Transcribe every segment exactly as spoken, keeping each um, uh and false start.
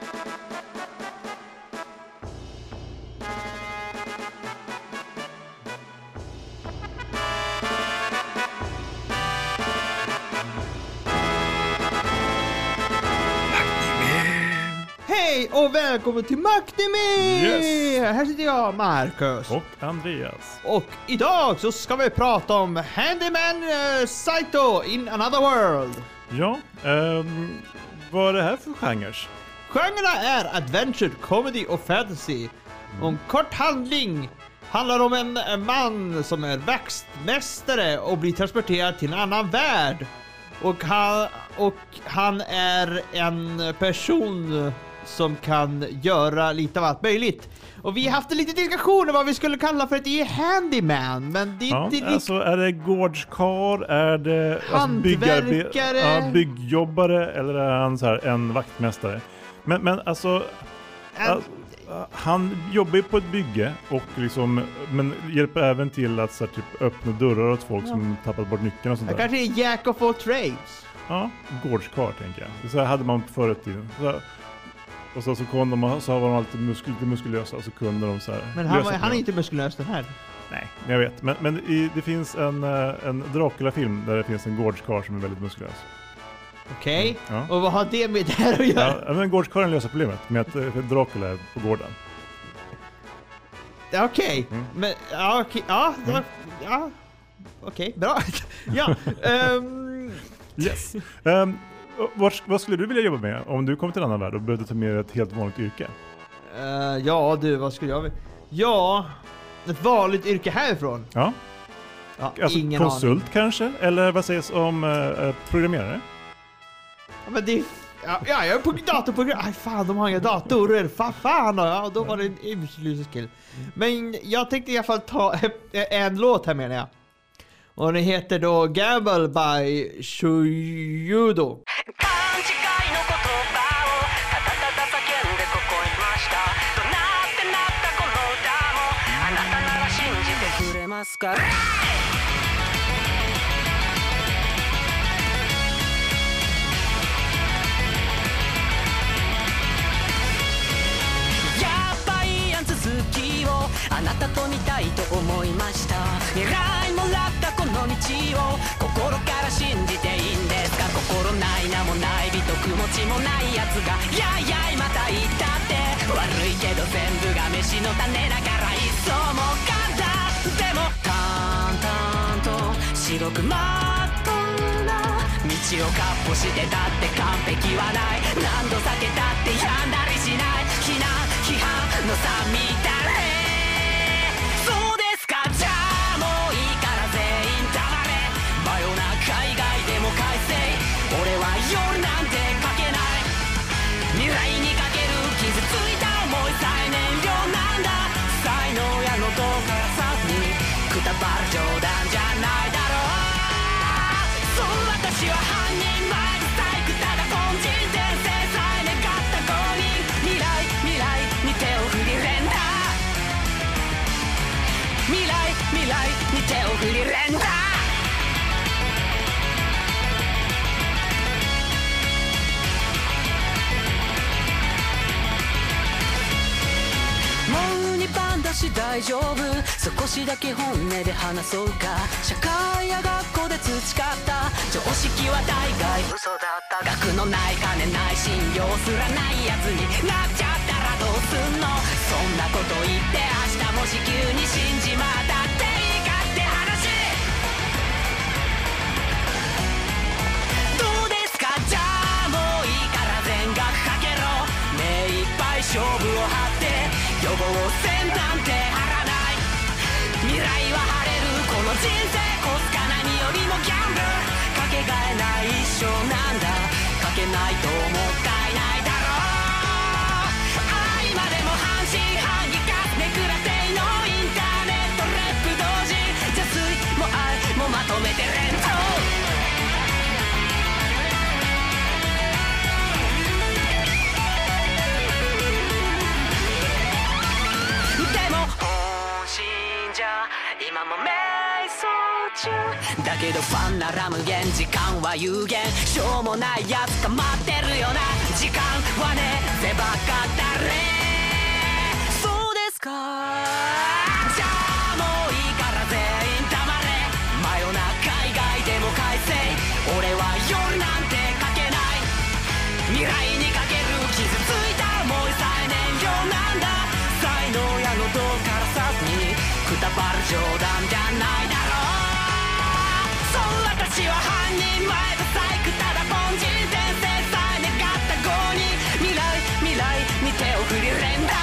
Hej och välkommen till Macnime! Yes. Här sitter jag, Marcus. Och Andreas. Och idag så ska vi prata om Handyman uh, Saito in Another World. Ja, um, vad är det här för genrer? Genrerna är adventure, comedy och fantasy. Mm. Och en kort handling handlar om en, en man som är växtmästare och blir transporterad till en annan värld. Och han, och han är en person som kan göra lite av allt möjligt. Och vi har haft en liten diskussion om vad vi skulle kalla för ett handyman, men det är ja, inte riktigt... Alltså är det gårdskar, är det hantverkare, alltså, ja, byggjobbare eller är han så här en vaktmästare? Men, men alltså... En... alltså han jobbar ju på ett bygge och liksom, men hjälper även till att så här, typ, öppna dörrar åt folk ja. som tappat bort nyckeln och sånt där. Han kanske är jack of all trades. Ja, gårdskar tänker jag. Så här hade man på förr i tiden. Så här, och så, så kunde de, så var de alltid muskul, lite muskulösa och så kunde de så här. Men han, var, han är inte muskulös den här. Nej, jag vet. Men, men i, det finns en, en Dracula-film där det finns en gårdskar som är väldigt muskulös. Okej, okay. mm, ja. Och vad har det med det här att göra? Ja, men gårdskaren löser problemet med att Dracula är på gården. Okej, okay. mm. men ja, okay. ja, mm. ja, okej, okay. Bra. ja, um... yes. Um, vad, vad skulle du vilja jobba med om du kom till en annan värld och behövde ta med ett helt vanligt yrke? Uh, ja, du, vad skulle jag vilja? Ja, ett vanligt yrke härifrån. Ja. ja alltså ingen konsult aning. Kanske? Eller vad sägs om uh, programmerare? Ja, men det... Ja, jag är på datorprogram. Aj fan, de har inga datorer. Fan, fan. Ja, då var det en useless skill. Men jag tänkte i alla fall ta en låt här menar jag. Och den heter då Gamble by Shuyudo. あなたと見たいと思いました未来もらったこの道を心から信じていいんですか心ない名もない美徳持ちもないやつがやいやいまた言ったって悪いけど全部が飯の種だから一層も簡単でも淡々と白くまっとうな道をかっ歩してたって完璧はない何度避けたって病んだりしない非難批判の差みたい俺は夜なんてかけない未来にかける傷ついた思いさえ燃料なんだ才能やのどからさにくたばる冗談じゃないだろうそう私は犯人前で細工ただ凡人転生さえ願った公認未来未来に手を振り連打未来未来に手を振り連打大丈夫少しだけ本音で話そうか社会や学校で培った常識は大概嘘だった学のない金ない信用すらないやつになっちゃったらどうすんのそんなこと言って明日もし急に死んじまったっていいかって話どうですかじゃあもういいから全額かけろ目いっぱい勝負を張って予防線なんて張らない未来は晴れるこの人生コスか何よりもギャンブルかけがえない一生なんだかけないともったいないだろうああ今でも半信半疑かめくらせのインターネットレップ同時邪推も愛もまとめて連投今も瞑想中だけどファンなら無限時間は有限しょうもないやつか待ってるよな時間はね狭か誰そうですかじゃあもういいから全員黙れ真夜中以外でも快晴俺は夜なんてかけない未来にかける傷ついた思いさえ燃料なんだ才能やのどからさずにくたばる冗談じゃないだろうそう私は半人前と細工ただ凡人伝説さえ願った号に未来未来に手を振り連打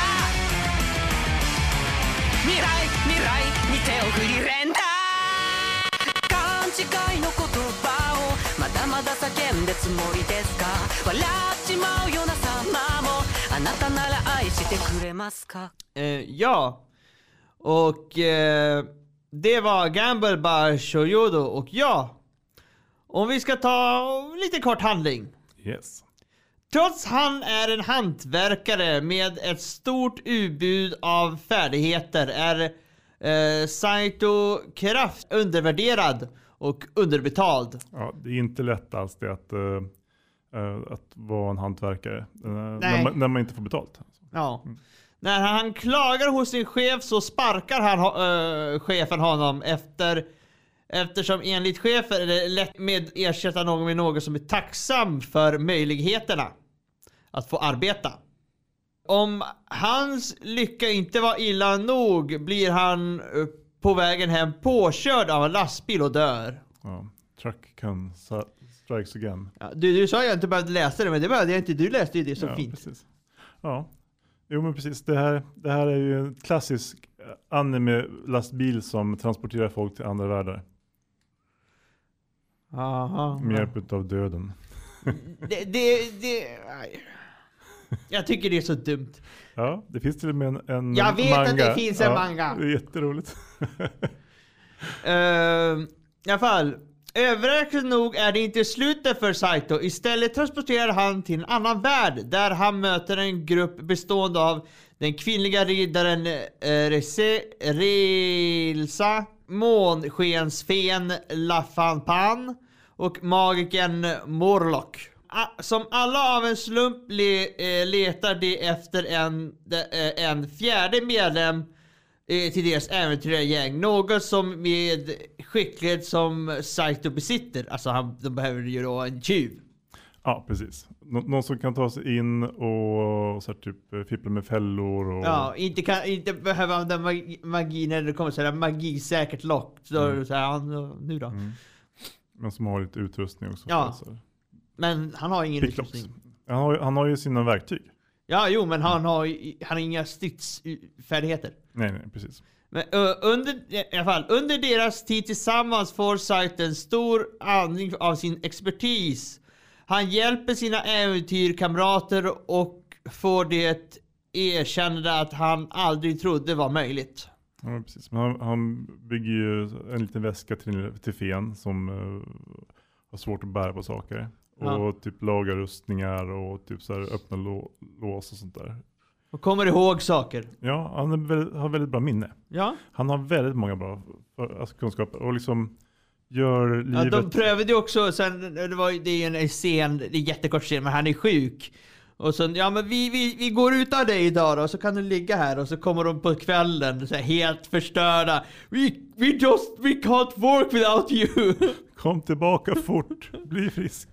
未来未来に手を振り連打勘違いの言葉をまだまだ叫んでつもりですか笑っちまうような様もあなたなら愛してくれますか Eh, ja, och eh, det var Gamble by Shoyodo. Och ja, om vi ska ta lite kort handling. Yes. Trots han är en hantverkare med ett stort utbud av färdigheter är eh, Saito kraft undervärderad och underbetald. Ja, det är inte lätt alls det att, uh, uh, att vara en hantverkare uh, Nej. när, man, när man inte får betalt. Ja. Mm. När han klagar hos sin chef så sparkar han uh, chefen honom efter eftersom enligt chefen är det lätt med ersätta någon med någon som är tacksam för möjligheterna att få arbeta. Om hans lycka inte var illa nog blir han uh, på vägen hem påkörd av en lastbil och dör. Ja, truck can strikes again. Ja, du, du sa jag inte behövde läsa det, men det behövde jag inte. Du läste ju det så ja, fint. Precis. Ja, jo men precis. Det här, det här är ju en klassisk anime-lastbil som transporterar folk till andra världar. Aha. Med hjälp av döden. Det, det, det, jag tycker det är så dumt. Ja, det finns till och med en, en Jag vet manga. att det finns en ja, manga. Det är jätteroligt. uh, I alla fall, överraskande nog är det inte slutet för Saito. Istället transporterar han till en annan värld där han möter en grupp bestående av den kvinnliga riddaren uh, Rese, Relsa, månskensfen Lafanpan och magiken Morlock. Som alla av en slump le, eh, letar de efter en, de, eh, en fjärde medlem eh, till deras äventyrargäng. Något som med skicklighet som Saito besitter. Alltså han, de behöver ju då en tjuv. Ja, precis. Nå- någon som kan ta sig in och så här, typ fippla med fällor. Och... Ja, inte, kan, inte behöva använda magi, magi när det kommer sådär magisäkert lock. Så, mm. så här, ja, nu då. Mm. Men som har lite utrustning också. Ja. Så. Men han har ingen Picklocks. utrustning. Han har, han har ju sina verktyg. Ja, jo, men han har, han har inga stridsfärdigheter. Nej, nej, precis. Men uh, under, i alla fall, under deras tid tillsammans får Saito en stor andning av sin expertis. Han hjälper sina äventyrkamrater och får det erkännande att han aldrig trodde var möjligt. Ja, precis. Men han, han bygger ju en liten väska till, till fen som uh, har svårt att bära på saker. Ja. Och typ laga rustningar och typ så här öppna lå, lås och sånt där. Och kommer ihåg saker. Ja, han är väldigt, har väldigt bra minne. Ja. Han har väldigt många bra alltså, kunskaper och liksom gör livet... Ja, de prövade ju också, sen, det, var, det är en scen, det är en jättekort scen, men han är sjuk. Och sen, ja men vi, vi, vi går ut av dig idag då, så kan du ligga här. Och så kommer de på kvällen så här, helt förstörda. We, we just, we can't work without you. Kom tillbaka fort, bli frisk.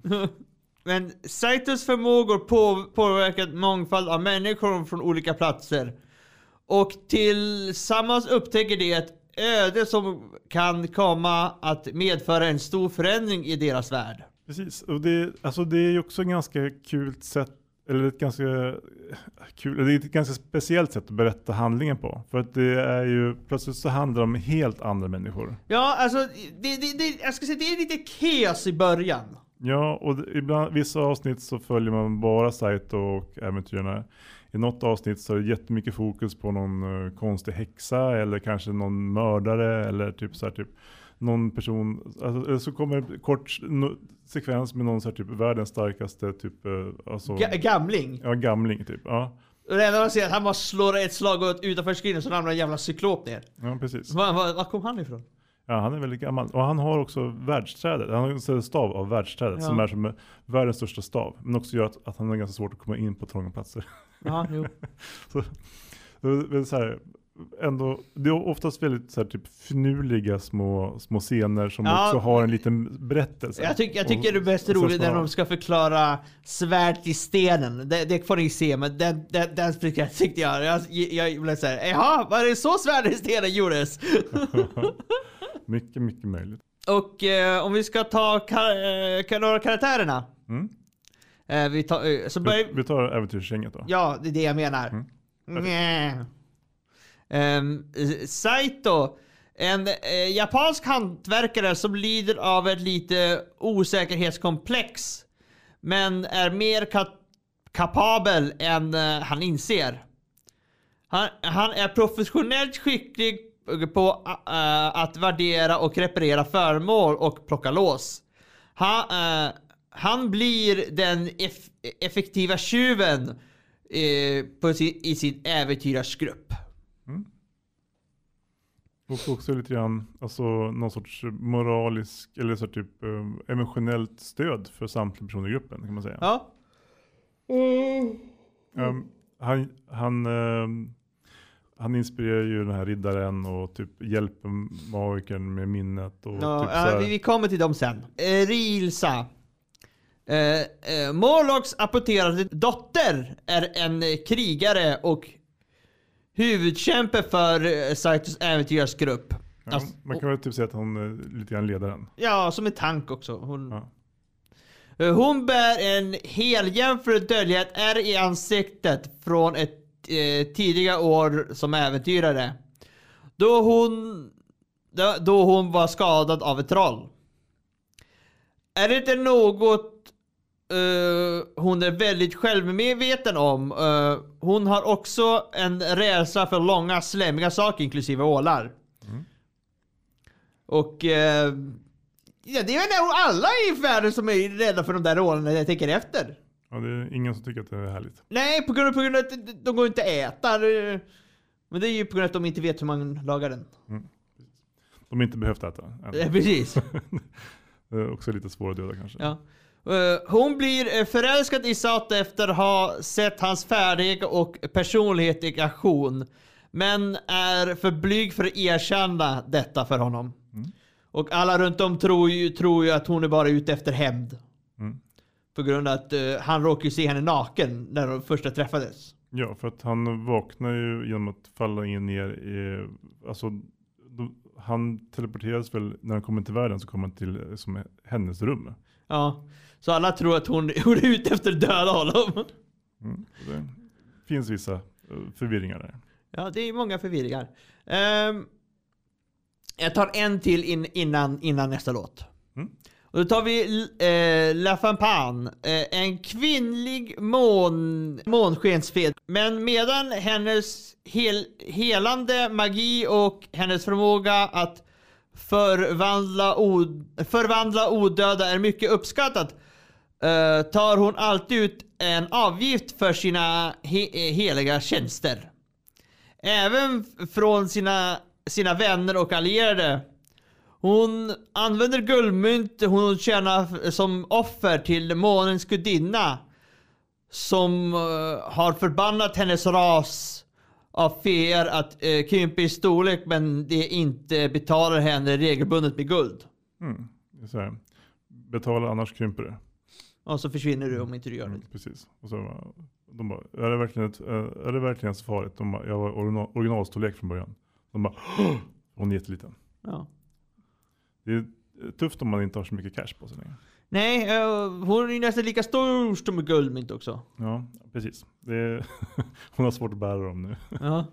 Men Saitos förmågor på, påverkar en mångfald av människor från olika platser. Och tillsammans upptäcker det ett öde som kan komma att medföra en stor förändring i deras värld. Precis, och det, alltså det är ju också ett ganska kul sätt, eller ett ganska kul, det är ett ganska speciellt sätt att berätta handlingen på. För att det är ju, plötsligt så handlar det om helt andra människor. Ja, alltså, det, det, det, jag ska säga det är lite kaos i början. Ja, och det, ibland, vissa avsnitt så följer man bara Saito och äventyrarna. I något avsnitt så är det jättemycket fokus på någon uh, konstig häxa eller kanske någon mördare eller typ så här, typ någon person, alltså, eller så kommer det kort no, sekvens med någon så här, typ världens starkaste typ uh, alltså, Ga- gamling. Ja, gamling typ. Ja. Och det enda man ser att han bara slår ett slag utanför skrinen så ramlar en jävla cyklop ner. Ja, precis. Var, var, var kom han ifrån? Ja, han är väldigt gammal. Och han har också världsträdet. Han har en stav av världsträdet ja. som är som världens största stav. Men också gör att, att han är ganska svårt att komma in på trånga platser. Ja, jo. så, det är så här, ändå, det är oftast väldigt så här, typ finurliga små, små scener som ja. också har en liten berättelse. Jag, tyck, jag tycker och, det är bäst roligt när de ska förklara svärd i stenen. Det, det får ni se, men den, den, den tyckte jag. Jag, jag blev så här, jaha, var det så svärd i stenen gjordes? mycket, mycket möjligt. Och eh, om vi ska ta kar- eh, några karaktärerna. Mm. Eh, vi, tar, eh, så börj- vi, vi tar äventyrsgänget då. Ja, det är det jag menar. Mm. Mm. Um, Saito, en eh, japansk hantverkare som lider av ett lite osäkerhetskomplex, men är mer ka- kapabel än uh, han inser. Han, han är professionellt skicklig på uh, att värdera och reparera föremål och plocka lås. Han, uh, han blir den eff- effektiva tjuven uh, på sin, i sin äventyrarsgrupp. Mm. Och också lite grann alltså, någon sorts moralisk eller så typ um, emotionellt stöd för samtliga personer i gruppen kan man säga. Ja. Mm. Um, han han um, han inspirerar ju den här riddaren och typ hjälper magikern med minnet och ja, typ så här... här... vi kommer till dem sen. Eh, Rilsa. Eh, eh, Morlocks apporterade dotter är en eh, krigare och huvudkämpe för uh, Saitos äventyrsgrupp. Ja, alltså, man kan väl typ säga att hon är lite grann ledaren. Ja, som en tank också. Hon, ja. uh, hon bär en heljämför dödlighet är i ansiktet från ett uh, tidiga år som äventyrare. Då hon, då, då hon var skadad av ett troll. Är det inte något Uh, hon är väldigt självmedveten om. Uh, hon har också en rädsla för långa, slämmiga saker, inklusive ålar. Mm. Och uh, ja, det är nog alla i världen som är rädda för de där ålarna när jag tänker efter. Ja, det är ingen som tycker att det är härligt. Nej, på grund av, på grund av att de går inte att äta. Men det är ju på grund av att de inte vet hur man lagar den. Mm. De har inte behövt äta. Ja, precis. Det är också lite svårt att döda kanske. Ja. Uh, hon blir förälskad i Sato efter att ha sett hans färdighet och personlighet i aktion, men är för blyg för att erkänna detta för honom. Mm. Och alla runt om tror ju, tror ju att hon är bara ute efter hämnd. Mm. På grund av att uh, han råkade se henne naken när de första träffades. Ja, för att han vaknar ju genom att falla in ner i... Alltså, då, han teleporteras väl, när han kommer till världen så kommer han till som hennes rum. Ja, så alla tror att hon, hon är ute efter att döda honom. Mm, det finns vissa förvirringar där. Ja, det är många förvirringar. Um, jag tar en till in, innan, innan nästa låt. Mm. Och då tar vi eh, La Fampane, eh, en kvinnlig mån, månskensfed. Men medan hennes hel, helande magi och hennes förmåga att förvandla, od, förvandla odöda är mycket uppskattat, eh, tar hon alltid ut en avgift för sina he, heliga tjänster. Även från sina, sina vänner och allierade. Hon använder guldmynt hon tjänar som offer till månens gudinna, som uh, har förbannat hennes ras av feer att uh, krympa i storlek, men det inte betalar henne regelbundet med guld. Mm. Så här. Betala annars krymper det. Och så försvinner du om inte du gör det. Mm, precis. Och så de bara, är det verkligen ett, är det verkligen så farligt? De bara, jag var original, originalstorlek från början. De bara, hon är jätteliten. Ja. Det är tufft om man inte har så mycket cash på sig längre. Nej, uh, hon är nästan lika stor som med guldmynt också. Ja, precis. Det är hon har svårt att bära dem nu. Ja.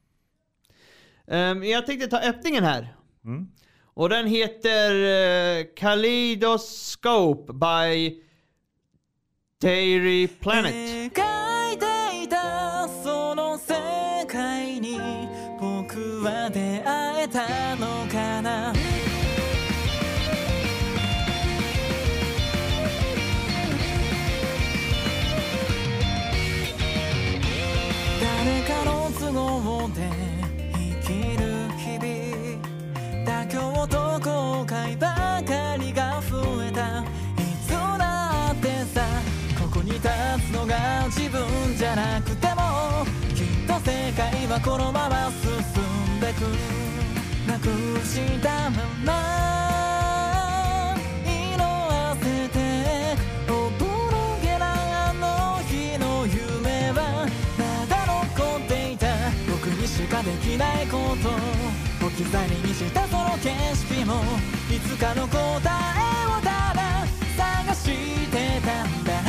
Um, jag tänkte ta öppningen här. Mm. Och den heter uh, Kaleidoscope by Dairy Planet. 誰かの都合で生きる日々妥協と自分じゃなくてもきっと世界はこのまま進んでくなくしたまま色あせておぼろげなあの日の夢はまだ残っていた僕にしかできないこと置き去りにしたその景色もいつかの答えをただ探してたんだ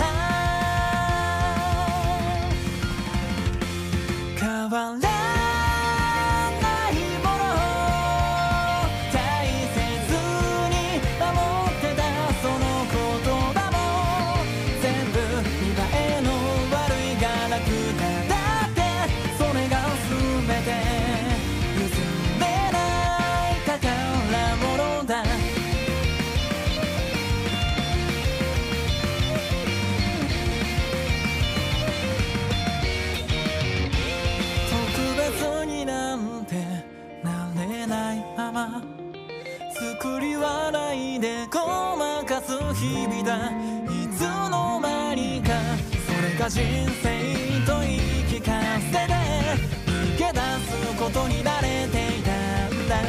変わらないもの大切に守ってたその言葉も全部見栄えの悪いがなくなだってそれが全て譲れない宝物だ作り笑いでごまかす日々だいつの間にかそれが人生と言い聞かせて逃げ出すことに慣れていたんだ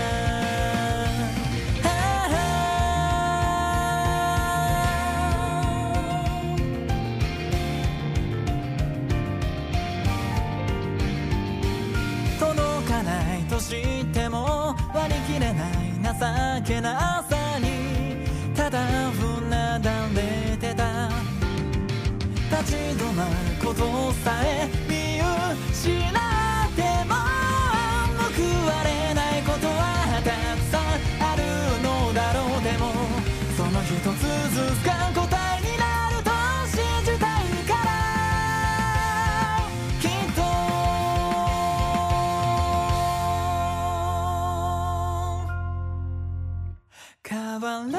届かないと知っても割り切れない情けなさにただうなだれてた立ち止まることさえ見失っても報われないことはたくさんあるのだろうでもその一つずつが答えになると信じたいからきっと変わら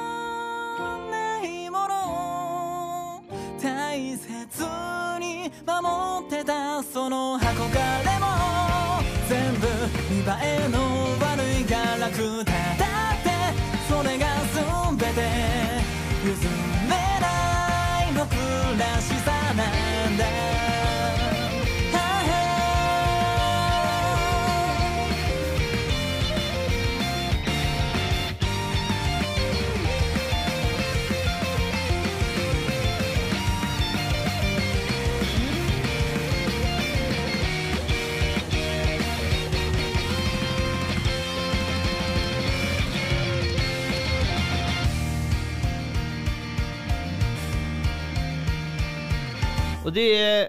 ないもの大切に守ってたその憧れも全部見栄えの悪いが楽だだってそれが全て譲れない僕らしさなんだ Och det är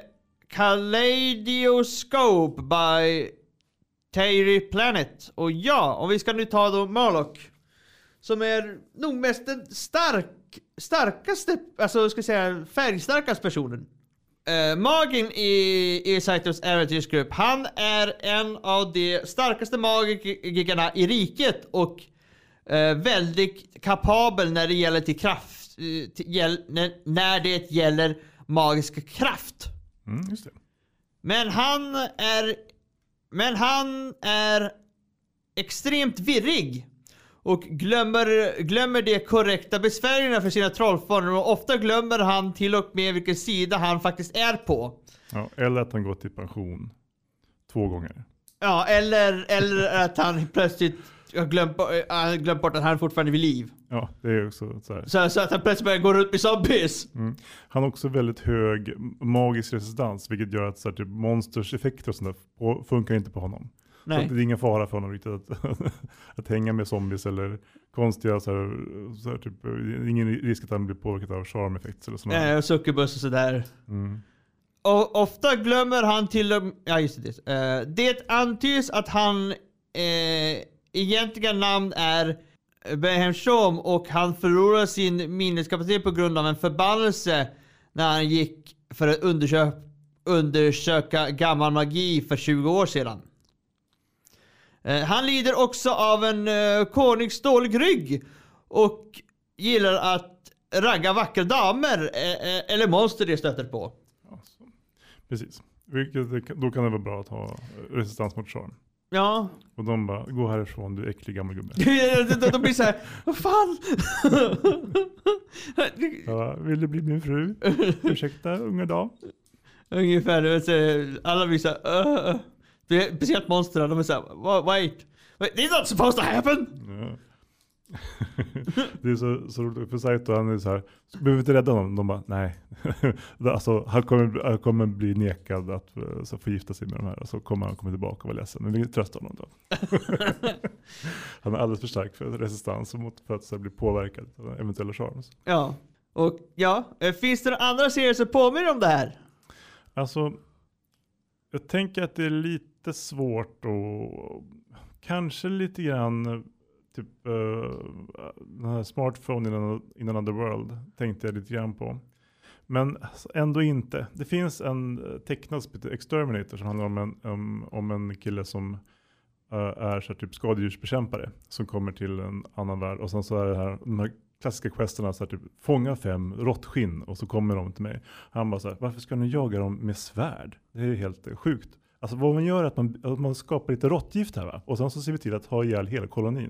Kaleidoscope by Terry Planet. Och ja, om vi ska nu ta då Murloc, som är nog mest den stark, starkaste, alltså ska jag säga färgstarkaste personen. Uh, Magin i, i Saitos äventyrsgrupp, han är en av de starkaste magikerna i riket och uh, väldigt kapabel när det gäller till kraft, uh, till, gäll, när, när det gäller magisk kraft. Mm, just det. Men han är men han är extremt virrig och glömmer glömmer de korrekta besvärjelserna för sina trollformer, och ofta glömmer han till och med vilken sida han faktiskt är på. Ja, eller att han går till pension två gånger. Ja, eller eller att han plötsligt har glömt, äh, glömt bort att han fortfarande är vid liv. Ja, det är också så här. Så, så att han plötsligt börjar gå runt med zombies. Mm. Han har också väldigt hög magisk resistans, vilket gör att så här, typ, monsters effekter och sånt där funkar inte på honom. Nej. Så det är ingen fara för honom riktigt att, att hänga med zombies eller konstiga så här, så här, typ, ingen risk att han blir påverkad av charm-effekter eller sådär. Ja, och succubus och sådär. Mm. Och ofta glömmer han till och ja, just det. Uh, det antyds att han uh, egentliga namn är Behemshom, och han förlorar sin minneskapacitet på grund av en förbannelse när han gick för att undersöka, undersöka gammal magi för tjugo år sedan. Uh, han lider också av en uh, konungsdålig rygg och gillar att ragga vackra damer uh, eller monster det stöter på. Ja, så. Precis. Vilket, då kan det vara bra att ha resistans mot charm. Ja. Och de bara, gå härifrån, du äcklig gammal gubbe. de, de blir så här, vad fan? Ja, vill du bli min fru? Ursäkta, unga dag. Ungefär, så alla blir så här, uh, speciellt monstren, de är så här, wait, wait, it's not supposed to happen. Ja. Det är så, så roligt för Saito, han är så här, behöver vi inte rädda honom? De bara, nej. Alltså, han, kommer, han kommer bli nekad att så få gifta sig med de här, och så kommer han komma tillbaka och vara ledsen. Men vi tröstar honom då. Han är alldeles för stark för resistans mot för att så bli påverkad av eventuella charms. Ja, och ja, finns det några andra serier som påminner om det här? Alltså, jag tänker att det är lite svårt och kanske lite grann typ uh, den här Smartphone in, in another world tänkte jag lite grann på. Men ändå inte. Det finns en tecknad som heter Exterminator som handlar om en, um, om en kille som uh, är så här, typ skadedjursbekämpare som kommer till en annan värld. Och sen så är det här, de här klassiska questerna så här, typ fånga fem råttskinn och så kommer de till mig. Han bara så här, varför ska ni jaga dem med svärd? Det är helt uh, sjukt. Alltså vad man gör är att man, att man skapar lite råttgift här, va? Och sen så ser vi till att ha ihjäl hela kolonin.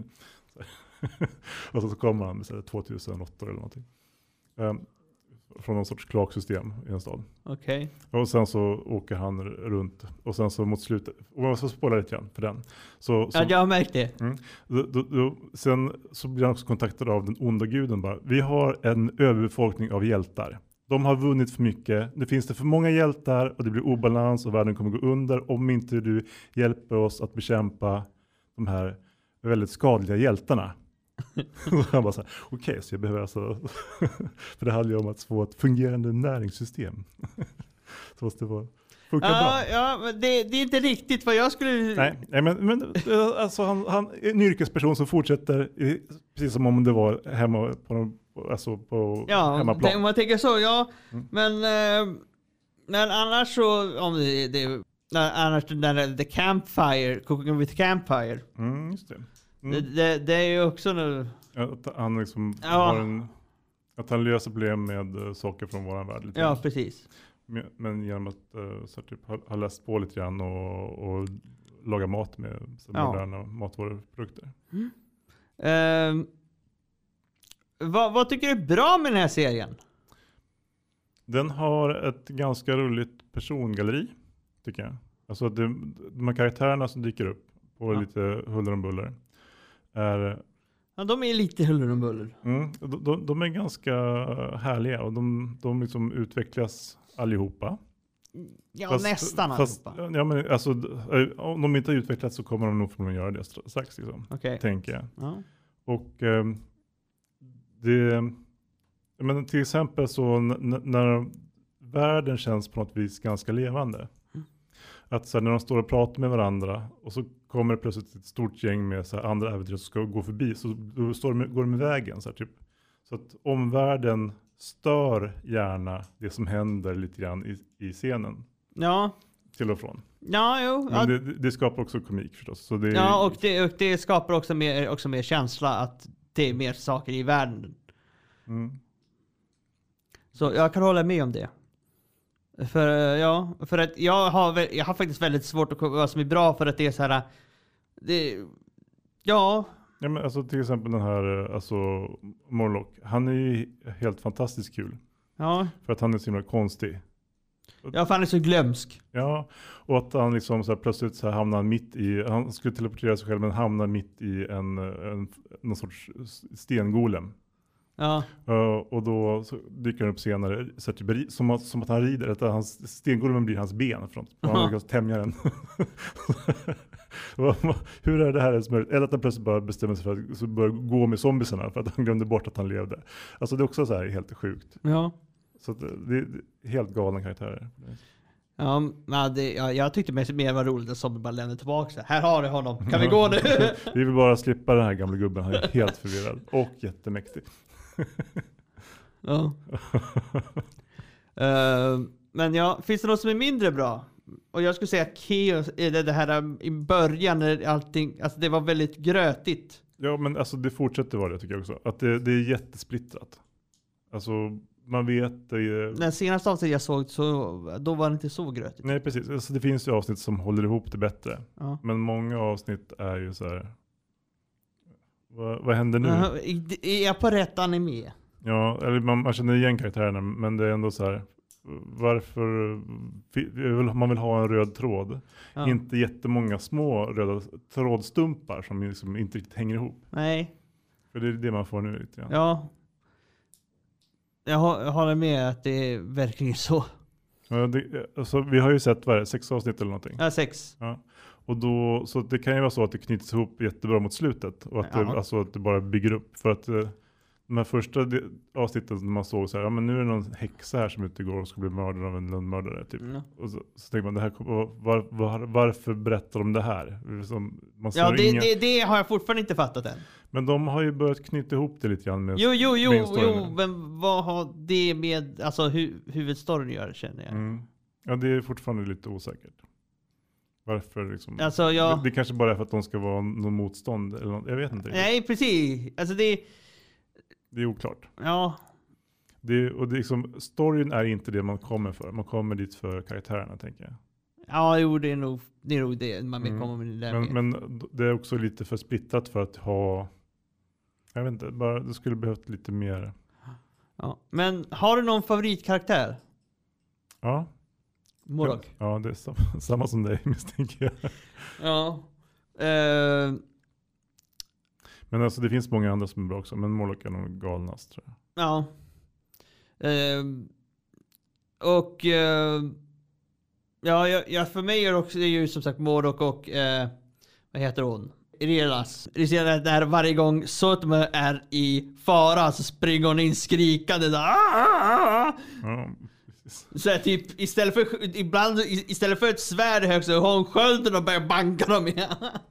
Och så, så kommer han med så här, tvåtusen råttor eller någonting. Um, från någon sorts kloaksystem i en stad. Okej. Okay. Och sen så åker han runt. Och sen så mot slutet, och man ska spåra lite grann för den. Så, så, ja, jag har märkt det. Mm, då, då, då, sen så blir han också kontaktad av den onda guden. Bara, vi har en överbefolkning av hjältar. De har vunnit för mycket. Det finns det för många hjältar och det blir obalans och världen kommer gå under om inte du hjälper oss att bekämpa de här väldigt skadliga hjältarna. Han bara så här, okej, okay, så jag behöver alltså för det handlar ju om att få ett fungerande näringssystem. Så måste det vara funka ja, bra. Ja, men det, det är inte riktigt vad jag skulle... Nej, nej men, men alltså han, han är en yrkesperson som fortsätter precis som om det var hemma på, alltså på ja, hemmaplan. Ja, om man tänker så, ja. Mm. Men, eh, men annars så, om det, det annars den där The Campfire, Cooking with Campfire. Mm, just det. Mm. Det, det, det är ju också nu... Att han liksom ja. har en, att han löser problem med uh, saker från våran värld. Lite ja, grann. precis. Men, men genom att uh, så typ, ha, ha läst på lite grann och, och laga mat med så ja. moderna matvaruprodukter. Mm. Uh, vad, vad tycker du är bra med den här serien? Den har ett ganska roligt persongalleri, tycker jag. Alltså det, de här karaktärerna som dyker upp på ja. lite huller om buller är... Ja, de är lite huller om buller. Mm, de, de, de är ganska härliga och de, de liksom utvecklas allihopa. Ja, fast, nästan fast, allihopa. Ja, men alltså, om de inte har utvecklats så kommer de nog förmodligen göra det strax, liksom, okay. tänker jag. Ja. Och eh, det... Men till exempel så n- när världen känns på något vis ganska levande. Mm. Att så här, när de står och pratar med varandra och så kommer det plötsligt ett stort gäng med så här, andra äventyr som ska gå förbi. Så då står de, går de med vägen. Så, här, typ. Så att omvärlden stör gärna det som händer lite grann i, i scenen. Ja. Till och från. Ja, jo. Men det, det skapar också komik förstås. Så det är, ja, och det, och det skapar också mer, också mer känsla att det är mer saker i världen. Mm. Så jag kan hålla med om det. För ja, för att jag har jag har faktiskt väldigt svårt att komma vad som är bra för att det är så här det ja, ja men alltså till exempel den här alltså Morlock, han är ju helt fantastiskt kul. Ja. För att han är så himla konstig. Ja, för han är så glömsk. Ja, och att han liksom så här, plötsligt så här hamnar mitt i, han skulle teleportera sig själv men hamnar mitt i en, en någon sorts stengolem. Ja. Uh, och då så dyker han upp senare så att, typ, som, att, som att han rider. Att hans, stengolemen blir hans ben. För att han lyckas tämja den. Hur är det här ens möjligt? Eller att han plötsligt bara bestämmer sig för att så börja gå med zombiesarna för att han glömde bort att han levde. Alltså det är också så här helt sjukt. Ja. Så att det, det är helt galna karaktärer. Ja, men det, ja, jag tyckte mer, mer var roligt att zombie bara lämnade tillbaka sig. Här har du honom. Kan vi gå nu? Vi vill bara slippa den här gamla gubben. Han är helt förvirrad. Och jättemäktig. Ja. uh, men ja, finns det något som är mindre bra? Och jag skulle säga Chaos, det, det här i början när allting, alltså det var väldigt grötigt. Ja, men alltså det fortsätter vara det tycker jag också. Att det, det är jättesplittrat. Alltså man vet det. Den senaste avsnitt jag såg så då var det inte så grötigt. Nej, precis. Alltså, det finns ju avsnitt som håller ihop det bättre. Ja. Men många avsnitt är ju så här. Vad, vad händer nu? Uh, är jag på rätt anime? Ja, eller man, man känner igen karaktärerna, men det är ändå så här. varför man vill ha en röd tråd. Ja. Inte jättemånga små röda trådstumpar som liksom inte riktigt hänger ihop. Nej. För det är det man får nu lite grann. Ja. Jag, har, jag håller med att det är verkligen så. Ja, det, alltså, vi har ju sett vad är det, sex avsnitt eller någonting. Ja, sex. Ja. Och då, så det kan ju vara så att det knyts ihop jättebra mot slutet. Och att, Ja. det, alltså, att det bara bygger upp. För att eh, de här första de, avsnitten som man såg så här, ja men nu är det någon häxa här som inte går och ska bli mördad av en lönnmördare typ. Mm. Och så, så tänker man, det här, var, var, varför berättar de det här? Som, man Ja, ser det, inga, det, det har jag fortfarande inte fattat än. men de har ju börjat knyta ihop det lite grann med Jo, jo, jo, main storyn. jo, men vad har det med alltså, hu huvudstoryn att göra, känner jag? Mm. Ja, det är fortfarande lite osäkert. Varför liksom? Alltså, jag... det, det kanske bara är för att de ska vara någon motstånd eller något. Jag vet inte. Nej, precis. Alltså det... Det är oklart. Ja. Det, och det är liksom, storyn är inte det man kommer för. Man kommer dit för karaktärerna, tänker jag. Ja, jo, det är nog det, är nog det man vill Mm. komma med det där Men, med. men det är också lite för splittrat för att ha... Jag vet inte, bara, det skulle behövt lite mer... Ja. Men har du någon favoritkaraktär? Ja. Morok? Ja, det är samma, samma som dig, misstänker jag. Ja. Uh, Men alltså det finns många andra som är bra också. Men Morlock är nog galnast, tror jag. ja. Uh, och... Uh, ja, ja, ja, för mig är det också det är ju som sagt Morok och... Uh, vad heter hon? Irelas. Det ser att där varje gång Sotme är i fara så springer hon in skrikande där. Ja, precis. Så här, typ istället för ibland istället för ett svärd högt så har hon skölden och börjar banka dem igen.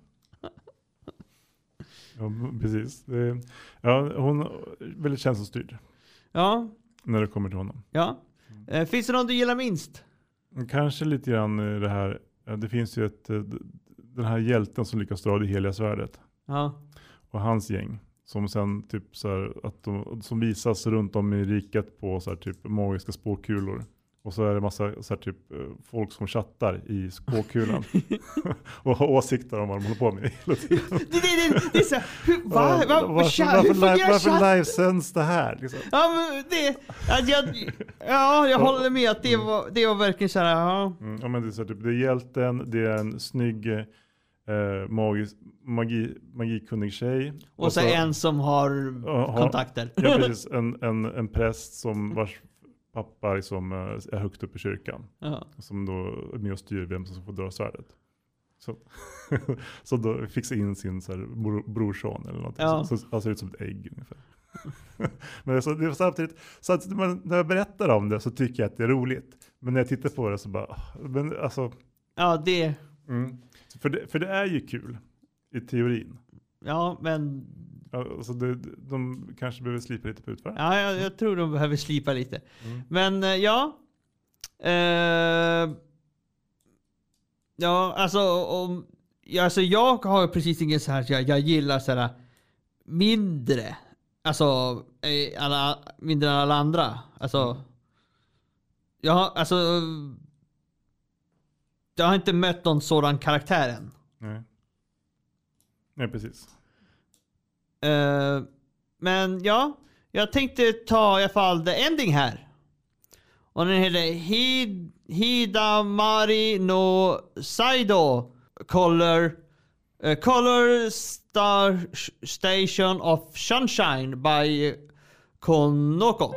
Ja, precis. Det, ja, hon är väldigt känslostyrd Ja, när det kommer till honom. ja. Eh, finns det någon du gillar minst? Kanske lite grann i det här. Ja, det finns ju ett, den här hjälten som lyckas dra det heliga svärdet. Ja. Och hans gäng. Som sen typ så här, att de, som visas runt om i riket på så här, typ magiska spåkulor. Och så är det massa så här, typ folk som chattar i spåkulan. Och har åsikter om vad de håller på med hela tiden. Det, det, det, det är så här, hur, va, va, varför, va, varför, hur varför, fungerar live, varför chatt? livesänds det här? Liksom? Ja, men det, att jag, ja, jag håller med att det var, det var verkligen så här, ja. Mm, ja, men det är så här, typ, det är hjälten, det är en snygg eh, magis, magi, magikunnig tjej. Och, och så, så en som har uh, kontakter. Ja, precis. En, en, en präst som vars pappa liksom, uh, är högt upp i kyrkan. Ja. Som då är med och styr vem som får dra svärdet. Så, så då fixar in sin så här, bro, brorson eller något. Ja. Så, så han ser ut som ett ägg ungefär. Men så, det är samtidigt, så att man, när jag berättar om det så tycker jag att det är roligt. Men när jag tittar på det så bara, men alltså... Ja, det... Mm. För, det, för det är ju kul i teorin. Ja, men... Alltså det, de kanske behöver slipa lite på utför. Ja, jag, jag tror de behöver slipa lite. Mm. Men eh, ja. Eh, ja, alltså, om, ja, alltså jag har precis ingen så här, jag, jag gillar så här mindre. Alltså, eh, alla, mindre än alla andra. Alltså, ja, alltså, jag har inte mött någon sådan karaktär än. Nej. Nej, precis. Uh, men ja, jag tänkte ta i alla fall the ending här. Och den heter Hid Hidamari no Saido Color uh, Color Star Station of Sunshine by Konoko.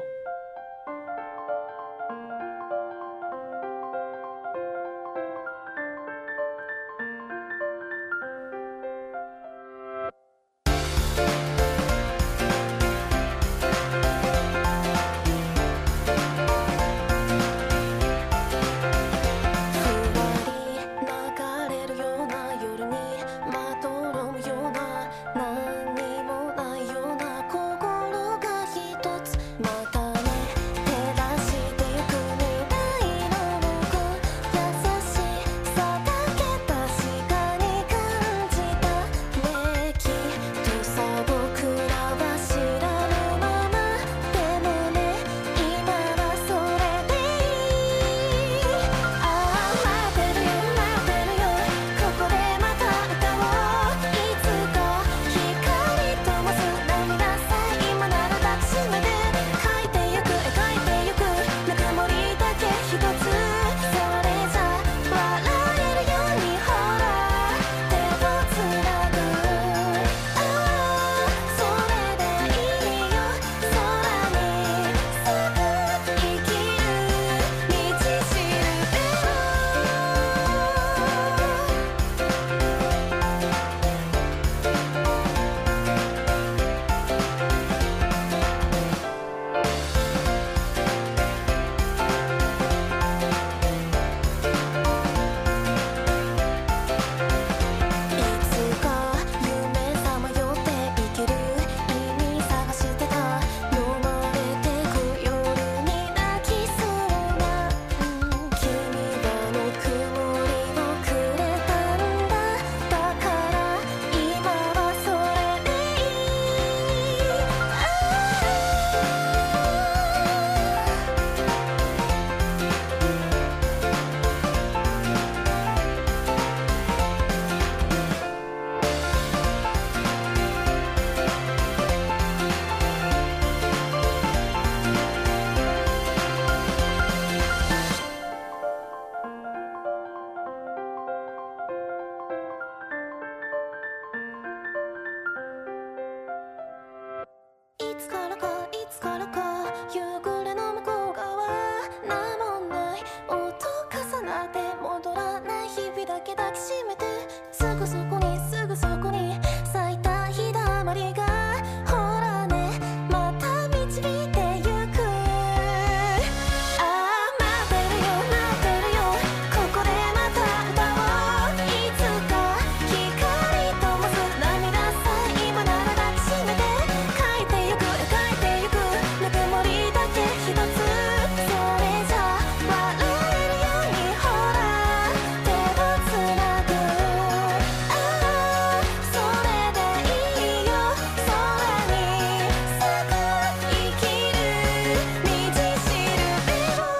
け抱きしめてすぐそこにすぐそこに咲いた日だまりがほらねまた導いてゆくああ待ってるよ待ってるよここでまた歌おういつか光灯す涙さえ今なら抱きしめて書いてゆく書いてゆくぬくもりだけ一つそれじゃ笑えるようにほら手をつなぐああそれでいいよ空に咲く生きる道しるべを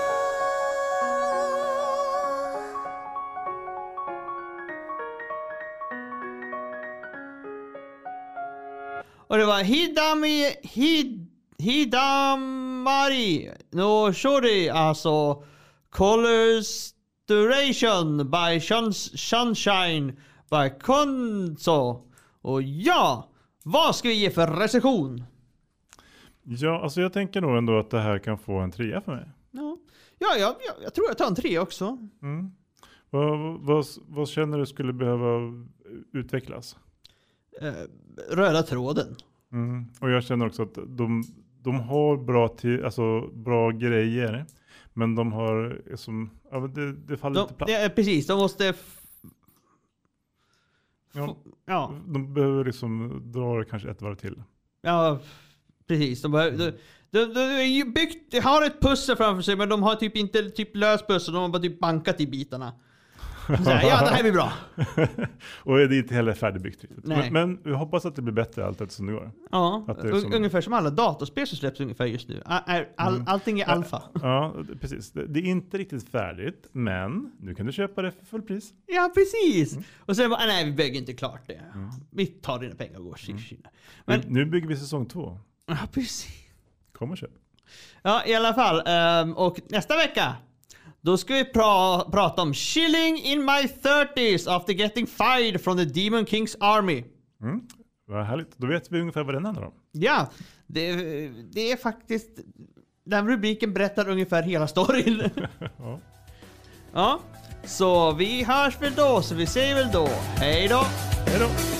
Och det var Hidami Hid, Hidamari no Shori, alltså Colors Duration by Shun- Sunshine by Konso. Och ja, vad ska vi ge för recension? Ja, alltså jag tänker nog ändå att det här kan få en trea för mig. Ja, ja jag, jag, jag tror jag tar en tre också. Mm. Vad, vad, vad känner du skulle behöva utvecklas? Eh, röda tråden. Mm. Och jag känner också att de, de har bra, till, alltså, bra grejer. Men de har som, ja, det, det faller De, lite platt. ja, precis, de måste... F- Ja. ja. De behöver liksom dra det kanske ett varv till. Ja, precis. De, behöver, de, de, de, är ju byggt, de har ett pussel framför sig, men de har typ inte typ löst pussel. De har bara typ bankat i bitarna. Så här, ja, det här blir bra. Och det är inte heller färdigbyggt riktigt. Nej. Men, men vi hoppas att det blir bättre allt eftersom det går. Ja, Att det är un- som- ungefär som alla datorspel som släpps ungefär just nu. All, all, all, allting är alfa. Ja, precis. Det, det är inte riktigt färdigt, men nu kan du köpa det för full pris. Ja, precis. Och sen bara, nej, vi bygger inte klart det. Vi tar dina pengar och går. Mm. Men, Men nu bygger vi säsong två. ja, precis. Kom och köp. Ja, i alla fall. ehm, och nästa vecka, då ska vi pra- prata om Chilling in my thirties after getting fired from the Demon King's army. Mm. Vad härligt. Då vet vi ungefär vad den handlar om. Ja, det, det är faktiskt... Den rubriken berättar ungefär hela storyn. Ja. Ja, så vi hörs väl då, så vi säger väl då. Hej då! Hej då!